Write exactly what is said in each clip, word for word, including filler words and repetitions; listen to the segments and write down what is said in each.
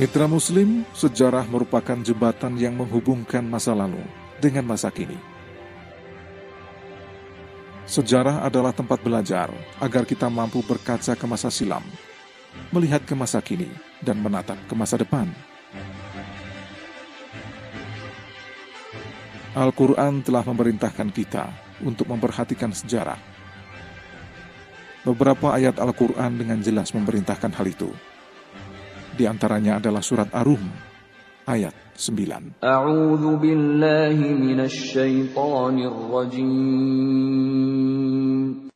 Mitra Muslim, sejarah merupakan jembatan yang menghubungkan masa lalu dengan masa kini. Sejarah adalah tempat belajar agar kita mampu berkaca ke masa silam, melihat ke masa kini, dan menatap ke masa depan. Al-Quran telah memerintahkan kita untuk memperhatikan sejarah. Beberapa ayat Al-Quran dengan jelas memerintahkan hal itu. Di antaranya adalah surat Ar-Rum, ayat sembilan. A'udzu billahi minasy syaithanir rajim.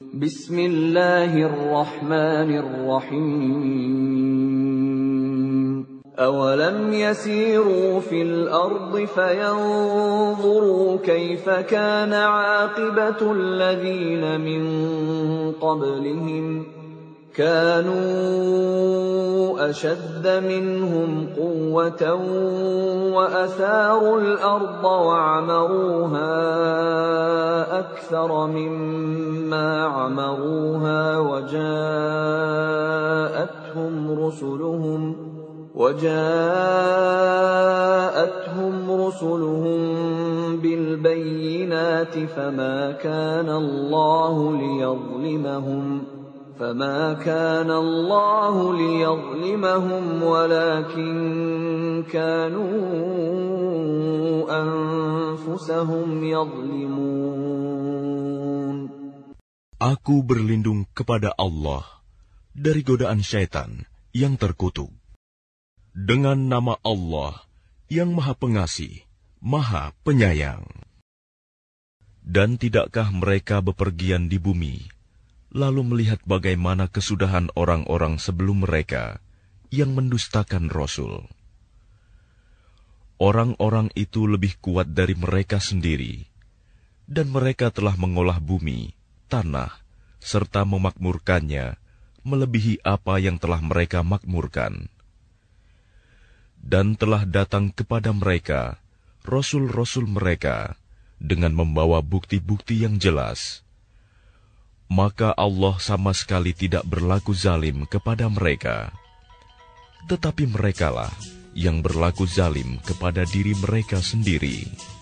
Bismillahirrahmanirrahim. Awalam yasiru fil ardi fayanzuru kaifa kana 'aqibatul ladzina min qablihim كانوا أشد منهم قوة وأثاروا الأرض وعمروها أكثر مما عمروها وجاءتهم رسلهم وجاءتهم رسلهم بالبينات فما كان الله ليظلمهم فما كان الله ليظلمهم ولكن كانوا أنفسهم يظلمون. Aku berlindung kepada Allah dari godaan syaitan yang terkutuk. Dengan nama Allah yang Maha Pengasih, Maha Penyayang. Dan tidakkah mereka bepergian di bumi, lalu melihat bagaimana kesudahan orang-orang sebelum mereka yang mendustakan Rasul. Orang-orang itu lebih kuat dari mereka sendiri, dan mereka telah mengolah bumi, tanah, serta memakmurkannya melebihi apa yang telah mereka makmurkan. Dan telah datang kepada mereka Rasul-Rasul mereka dengan membawa bukti-bukti yang jelas. Maka Allah sama sekali tidak berlaku zalim kepada mereka. Tetapi merekalah yang berlaku zalim kepada diri mereka sendiri.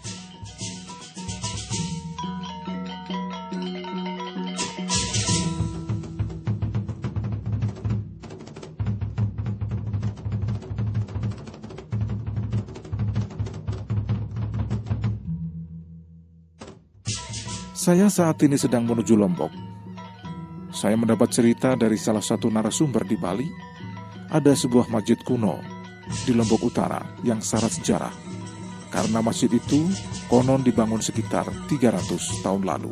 Saya saat ini sedang menuju Lombok. Saya mendapat cerita dari salah satu narasumber di Bali, ada sebuah masjid kuno di Lombok Utara yang syarat sejarah, karena masjid itu konon dibangun sekitar tiga ratus tahun lalu.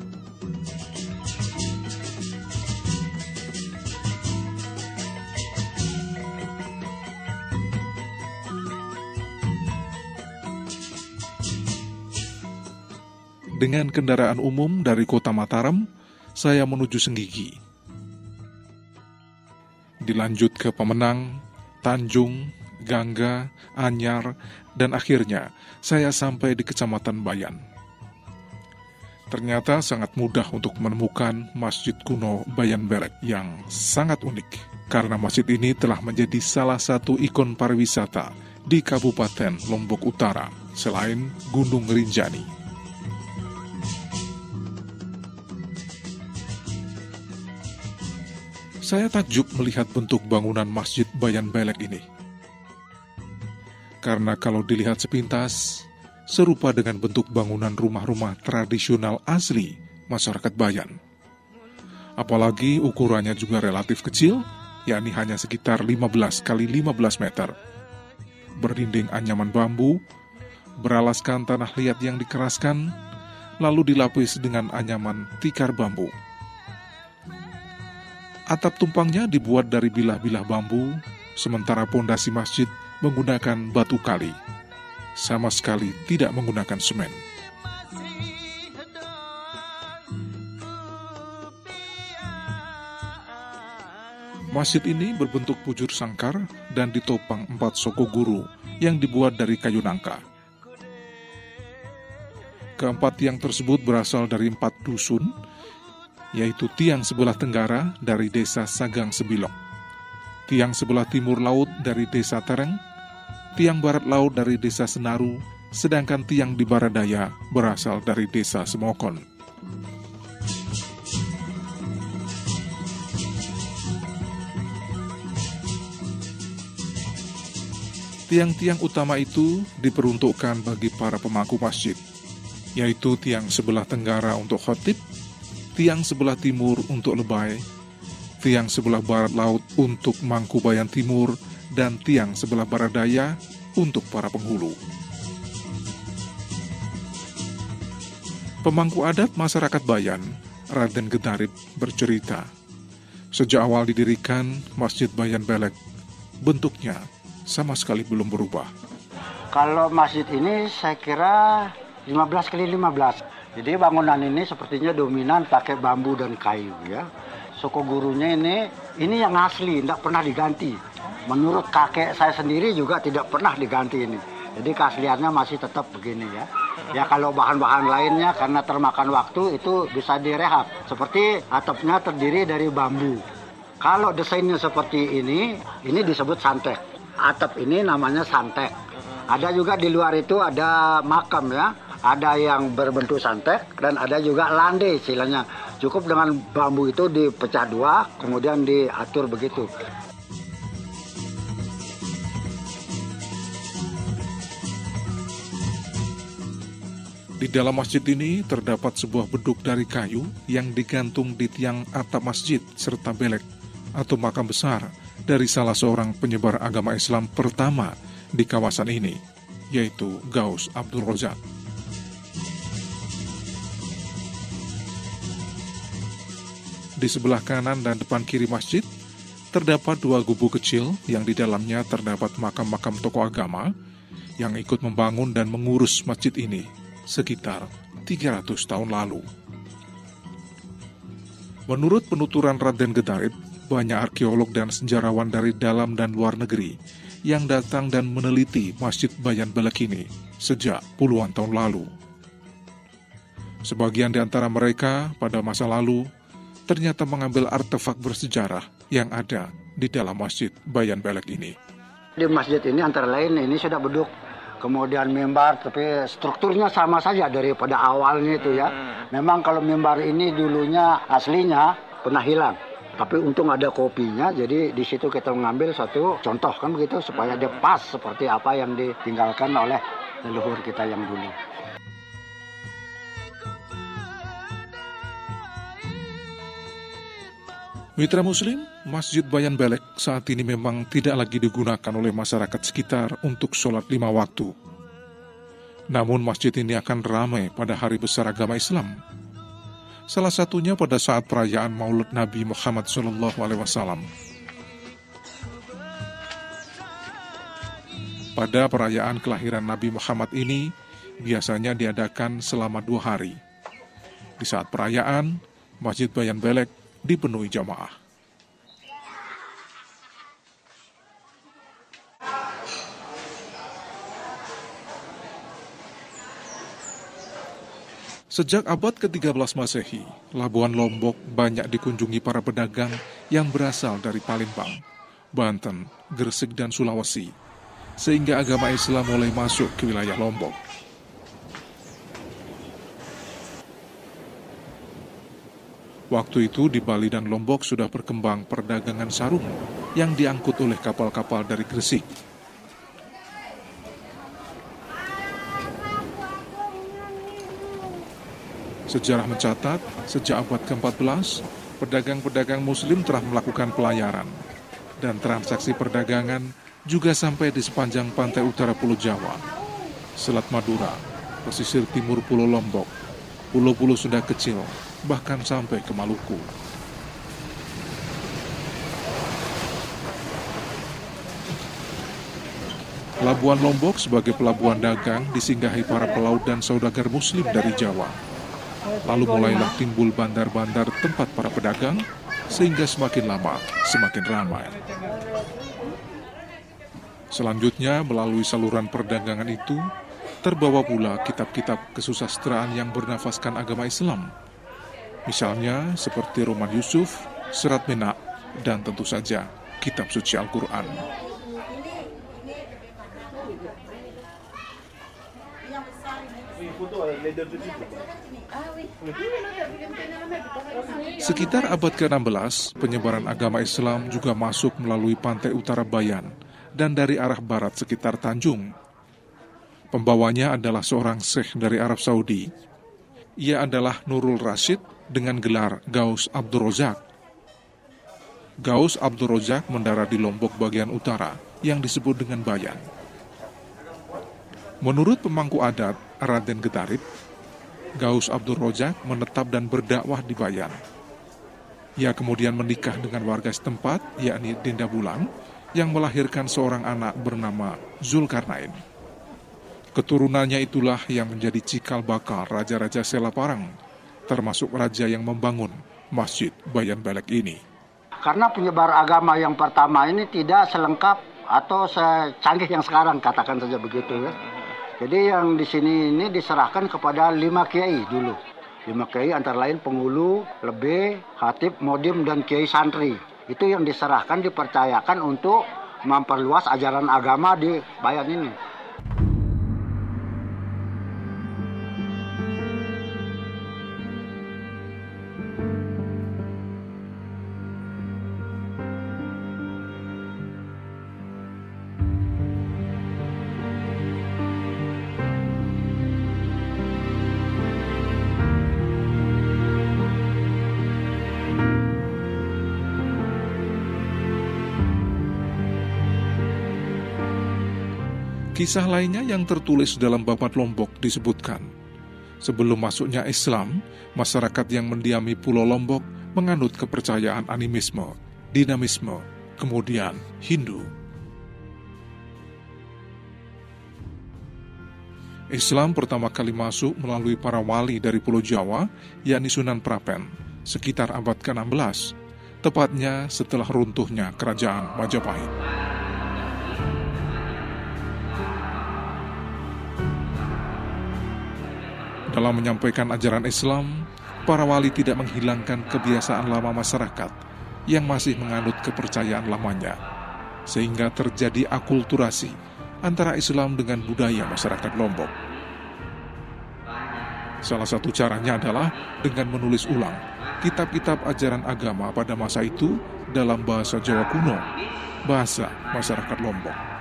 Dengan kendaraan umum dari kota Mataram, saya menuju Senggigi. Dilanjut ke Pemenang, Tanjung, Gangga, Anyar, dan akhirnya saya sampai di Kecamatan Bayan. Ternyata sangat mudah untuk menemukan Masjid Kuno Bayan Belek yang sangat unik, karena masjid ini telah menjadi salah satu ikon pariwisata di Kabupaten Lombok Utara, selain Gunung Rinjani. Saya takjub melihat bentuk bangunan Masjid Bayan Belek ini. Karena kalau dilihat sepintas, serupa dengan bentuk bangunan rumah-rumah tradisional asli masyarakat Bayan. Apalagi ukurannya juga relatif kecil, yakni hanya sekitar lima belas kali lima belas meter. Berdinding anyaman bambu, beralaskan tanah liat yang dikeraskan, lalu dilapis dengan anyaman tikar bambu. Atap tumpangnya dibuat dari bilah-bilah bambu, sementara pondasi masjid menggunakan batu kali. Sama sekali tidak menggunakan semen. Masjid ini berbentuk bujur sangkar dan ditopang empat soko guru yang dibuat dari kayu nangka. Keempat tiang tersebut berasal dari empat dusun, yaitu tiang sebelah tenggara dari desa Sagang Sebilok, tiang sebelah timur laut dari desa Tereng, tiang barat laut dari desa Senaru, sedangkan tiang di barat daya berasal dari desa Semokon. Tiang-tiang utama itu diperuntukkan bagi para pemangku masjid, yaitu tiang sebelah tenggara untuk khotib, tiang sebelah timur untuk lebay, tiang sebelah barat laut untuk mangku bayan timur, dan tiang sebelah barat daya untuk para penghulu. Pemangku adat masyarakat Bayan, Raden Gedarip, bercerita, sejak awal didirikan Masjid Bayan Belek, bentuknya sama sekali belum berubah. Kalau masjid ini saya kira lima belas kali lima belas. Jadi bangunan ini sepertinya dominan pakai bambu dan kayu ya. Suku gurunya ini ini yang asli, tidak pernah diganti. Menurut kakek saya sendiri juga tidak pernah diganti ini. Jadi keasliannya masih tetap begini ya. Ya kalau bahan-bahan lainnya karena termakan waktu itu bisa direhab. Seperti atapnya terdiri dari bambu. Kalau desainnya seperti ini, ini disebut santek. Atap ini namanya santek. Ada juga di luar itu ada makam ya. Ada yang berbentuk santek dan ada juga landai istilahnya. Cukup dengan bambu itu dipecah dua, kemudian diatur begitu. Di dalam masjid ini terdapat sebuah beduk dari kayu yang digantung di tiang atap masjid serta belek atau makam besar dari salah seorang penyebar agama Islam pertama di kawasan ini, yaitu Gaus Abdul Razak. Di sebelah kanan dan depan kiri masjid, terdapat dua gubuk kecil yang di dalamnya terdapat makam-makam tokoh agama yang ikut membangun dan mengurus masjid ini sekitar tiga ratus tahun lalu. Menurut penuturan Raden Gedarip, banyak arkeolog dan sejarawan dari dalam dan luar negeri yang datang dan meneliti Masjid Bayan Belek ini sejak puluhan tahun lalu. Sebagian di antara mereka pada masa lalu ternyata mengambil artefak bersejarah yang ada di dalam Masjid Bayan Belek ini. Di masjid ini antara lain ini sudah beduk, kemudian mimbar, tapi strukturnya sama saja daripada awalnya itu ya. Memang kalau mimbar ini dulunya aslinya pernah hilang. Tapi untung ada kopinya, jadi di situ kita mengambil satu contoh kan begitu supaya dia pas seperti apa yang ditinggalkan oleh leluhur kita yang dulu. Mitra Muslim, Masjid Bayan Belek saat ini memang tidak lagi digunakan oleh masyarakat sekitar untuk sholat lima waktu. Namun masjid ini akan ramai pada hari besar agama Islam. Salah satunya pada saat perayaan Maulid Nabi Muhammad shallallahu alaihi wasallam. Pada perayaan kelahiran Nabi Muhammad ini, biasanya diadakan selama dua hari. Di saat perayaan, Masjid Bayan Belek dipenuhi jamaah. Sejak abad ke tiga belas Masehi, Labuan Lombok banyak dikunjungi para pedagang yang berasal dari Palembang, Banten, Gresik, dan Sulawesi, sehingga agama Islam mulai masuk ke wilayah Lombok. Waktu itu di Bali dan Lombok sudah berkembang perdagangan sarung yang diangkut oleh kapal-kapal dari Gresik. Sejarah mencatat, sejak abad ke empat belas, pedagang-pedagang muslim telah melakukan pelayaran, dan transaksi perdagangan juga sampai di sepanjang pantai utara Pulau Jawa, Selat Madura, pesisir timur Pulau Lombok, pulau-pulau Sunda kecil, bahkan sampai ke Maluku. Labuan Lombok sebagai pelabuhan dagang disinggahi para pelaut dan saudagar muslim dari Jawa. Lalu mulailah timbul bandar-bandar tempat para pedagang, sehingga semakin lama semakin ramai. Selanjutnya, melalui saluran perdagangan itu, terbawa pula kitab-kitab kesusastraan yang bernafaskan agama Islam. Misalnya seperti Roman Yusuf, Serat Menak, dan tentu saja kitab suci Al-Quran. Sekitar abad ke-enam belas, penyebaran agama Islam juga masuk melalui pantai utara Bayan dan dari arah barat sekitar Tanjung. Pembawanya adalah seorang syekh dari Arab Saudi. Ia adalah Nurul Rasyid dengan gelar Gaus Abdul Razak. Gaus Abdul Razak mendarat di Lombok bagian utara yang disebut dengan Bayan. Menurut pemangku adat Raden Getarip, Gaus Abdul Razak menetap dan berdakwah di Bayan. Ia kemudian menikah dengan warga setempat, yakni Dinda Bulang, yang melahirkan seorang anak bernama Zulkarnain. Keturunannya itulah yang menjadi cikal bakal raja-raja Selaparang, termasuk raja yang membangun Masjid Bayan Belek ini. Karena penyebar agama yang pertama ini tidak selengkap atau secanggih yang sekarang, katakan saja begitu ya. Jadi yang di sini ini diserahkan kepada lima kiai dulu. Lima kiai antara lain penghulu, lebe, khatib, modim, dan kiai santri. Itu yang diserahkan, dipercayakan untuk memperluas ajaran agama di Bayan ini. Kisah lainnya yang tertulis dalam Babat Lombok disebutkan, sebelum masuknya Islam, masyarakat yang mendiami Pulau Lombok menganut kepercayaan animisme, dinamisme, kemudian Hindu. Islam pertama kali masuk melalui para wali dari Pulau Jawa, yakni Sunan Prapen, sekitar abad ke-enam belas, tepatnya setelah runtuhnya Kerajaan Majapahit. Dalam menyampaikan ajaran Islam, para wali tidak menghilangkan kebiasaan lama masyarakat yang masih menganut kepercayaan lamanya, sehingga terjadi akulturasi antara Islam dengan budaya masyarakat Lombok. Salah satu caranya adalah dengan menulis ulang kitab-kitab ajaran agama pada masa itu dalam bahasa Jawa kuno, bahasa masyarakat Lombok.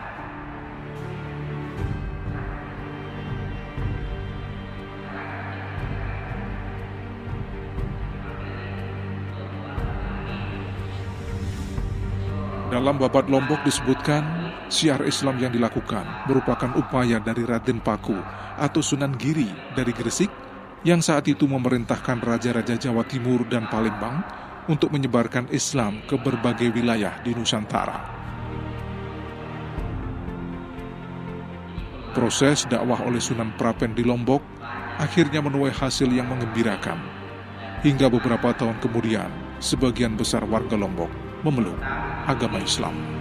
Dalam Babat Lombok disebutkan, syiar Islam yang dilakukan merupakan upaya dari Raden Paku atau Sunan Giri dari Gresik yang saat itu memerintahkan raja-raja Jawa Timur dan Palembang untuk menyebarkan Islam ke berbagai wilayah di Nusantara. Proses dakwah oleh Sunan Prapen di Lombok akhirnya menuai hasil yang menggembirakan. Hingga beberapa tahun kemudian, sebagian besar warga Lombok memeluk agama Islam.